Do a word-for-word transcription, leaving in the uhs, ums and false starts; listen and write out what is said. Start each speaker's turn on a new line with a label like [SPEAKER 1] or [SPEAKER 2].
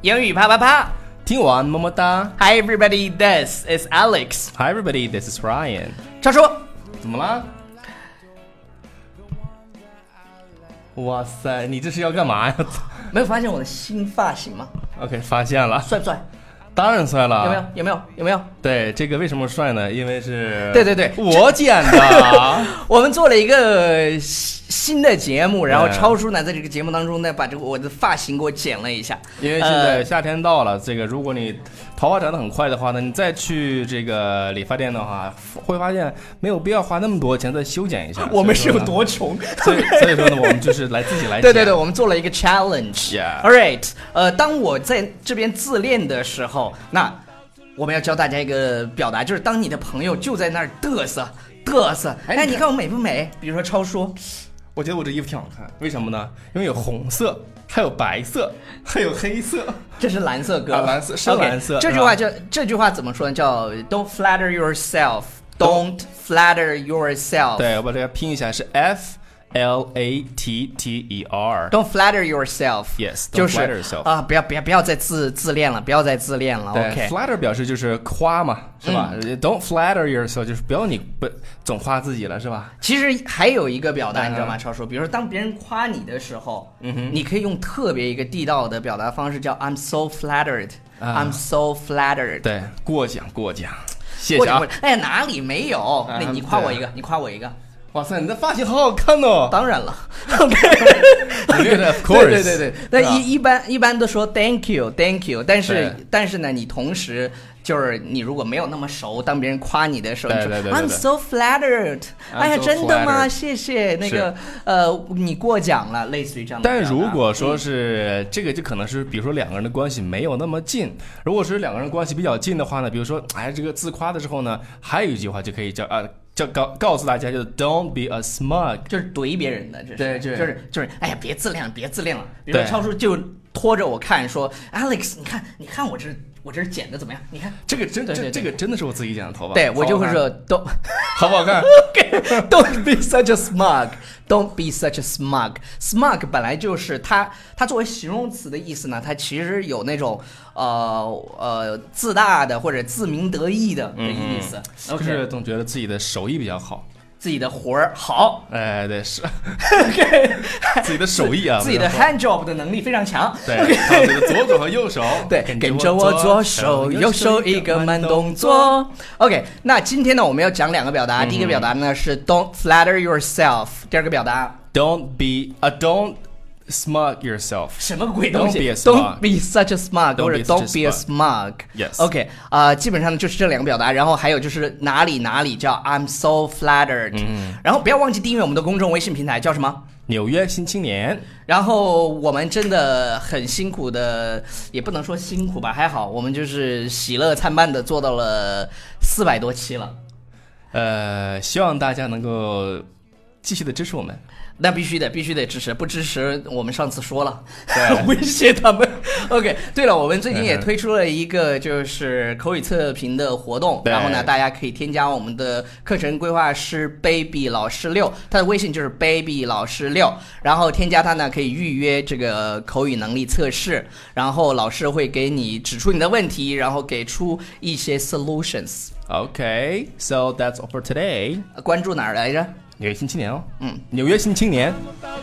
[SPEAKER 1] 英语啪啪啪，
[SPEAKER 2] 听完么么哒。
[SPEAKER 1] Hi everybody, this is Alex.
[SPEAKER 2] Hi everybody, this is Ryan.
[SPEAKER 1] 超叔，
[SPEAKER 2] 怎么了？哇塞，你这是要干嘛呀？
[SPEAKER 1] 没有发现我的新发型吗？
[SPEAKER 2] OK， 发现了。
[SPEAKER 1] 帅不帅？
[SPEAKER 2] 当然帅了。
[SPEAKER 1] 有没有？有没有？有没有？
[SPEAKER 2] 对，这个为什么帅呢？因为是
[SPEAKER 1] 对对对，
[SPEAKER 2] 我剪的。
[SPEAKER 1] 我们做了一个新的节目，然后超叔呢在这个节目当中呢把这个我的发型给我剪了一下。
[SPEAKER 2] 因为现在夏天到了，呃、这个如果你头发长得很快的话呢，你再去这个理发店的话，会发现没有必要花那么多钱再修剪一下。
[SPEAKER 1] 我们是有多穷？
[SPEAKER 2] 所以所以说呢，我们就是来自己来剪。
[SPEAKER 1] 对对对，我们做了一个 challenge。
[SPEAKER 2] Yeah.
[SPEAKER 1] All right， 呃，当我在这边自恋的时候，那我们要教大家一个表达，就是当你的朋友就在那儿嘚瑟嘚瑟，哎，你看我美不美？比如说超叔，
[SPEAKER 2] 我觉得我这衣服挺好看，为什么呢？因为有红色，还有白色，还有黑色。
[SPEAKER 1] 这是蓝色哥，
[SPEAKER 2] 啊、蓝色是蓝色。
[SPEAKER 1] Okay, 这句话叫这句话怎么说呢？叫 Don't flatter yourself, Don't flatter yourself。
[SPEAKER 2] 对，我把这个拼一下是 F L A T T E R。
[SPEAKER 1] Don't flatter yourself。
[SPEAKER 2] Yes，
[SPEAKER 1] 就是
[SPEAKER 2] flatter yourself
[SPEAKER 1] 啊，不要不要不要再自自恋了，不要再自恋了。
[SPEAKER 2] 对
[SPEAKER 1] OK，
[SPEAKER 2] flatter 表示就是夸嘛，是吧？嗯、Don't flatter yourself 就是不要你不总夸自己了，是吧？
[SPEAKER 1] 其实还有一个表达，
[SPEAKER 2] 嗯、
[SPEAKER 1] 你知道吗？超叔，比如说当别人夸你的时候，
[SPEAKER 2] 嗯哼，
[SPEAKER 1] 你可以用特别一个地道的表达方式，叫 I'm so flattered、啊、I'm so flattered。
[SPEAKER 2] 对，过奖过奖，谢谢啊。
[SPEAKER 1] 哎，哪里没有？那、嗯、你夸我一个，你夸我一个。
[SPEAKER 2] 哇塞，你的发型好好看哦！
[SPEAKER 1] 当然了 ，OK，
[SPEAKER 2] Of course，
[SPEAKER 1] 对对对对，那一一般一般都说 Thank you Thank you， 但是但是呢，你同时就是你如果没有那么熟，当别人夸你的时候，你说 I'm so flattered， 哎呀，真的吗？谢谢那个呃，你过奖了，类似于这样的。
[SPEAKER 2] 但如果说是、嗯、这个，就可能是比如说两个人的关系没有那么近，如果是两个人关系比较近的话呢，比如说哎，这个自夸的时候呢，还有一句话就可以叫啊。就告告诉大家，就是 Don't be a smug，
[SPEAKER 1] 就是怼别人的，这是
[SPEAKER 2] 对，对
[SPEAKER 1] 就是就是，哎呀，别自恋了，别自恋了。比如说超叔就拖着我看，说 Alex， 你看，你看我这我这剪的怎么样？你看
[SPEAKER 2] 这个真
[SPEAKER 1] 对对对
[SPEAKER 2] 这这个真的是我自己剪的头发，
[SPEAKER 1] 对我就会说都
[SPEAKER 2] 好不好看
[SPEAKER 1] ？Don't be such a smug，Don't be such a smug。smug 本来就是它它作为形容词的意思呢，它其实有那种呃呃自大的或者自鸣得意的的意思，
[SPEAKER 2] 嗯、就是总觉得自己的手艺比较好。
[SPEAKER 1] 自己的活儿好，
[SPEAKER 2] 哎，对是
[SPEAKER 1] ，OK，
[SPEAKER 2] 自己的手艺啊，
[SPEAKER 1] 自己的 hand job 的能力非常强，
[SPEAKER 2] 对，靠自己的左手和右手，
[SPEAKER 1] 对，跟着我左手右手一个慢动作 ，OK。那今天呢，我们要讲两个表达，嗯、第一个表达呢是 Don't flatter yourself， 第二个表达
[SPEAKER 2] Don't be a don't。smug yourself，
[SPEAKER 1] 什么鬼东西
[SPEAKER 2] ？Don't
[SPEAKER 1] be such a smug， 或者 Don't be a smug。Yes，OK， 啊、呃，基本上就是这两个表达，然后还有就是哪里哪里叫 I'm so flattered，嗯，然后不要忘记订阅我们的公众微信平台，叫什么？
[SPEAKER 2] 纽约新青年。
[SPEAKER 1] 然后我们真的很辛苦的，也不能说辛苦吧，还好我们就是喜乐参半的做到了四百多期了。
[SPEAKER 2] 呃，希望大家能够继续的支持我们。
[SPEAKER 1] 那必须得必须得支持，不支持我们上次说了，威胁他们。OK， 对了，我们最近也推出了一个就是口语测评的活动，然后呢，大家可以添加我们的课程规划师 baby 老师六，他的微信就是 baby 老师六，然后添加他呢可以预约这个口语能力测试，然后老师会给你指出你的问题，然后给出一些 solutions。Okay,
[SPEAKER 2] so that's all for today.
[SPEAKER 1] 关注哪儿来着？
[SPEAKER 2] 纽约新青年哦，嗯，纽约新青年。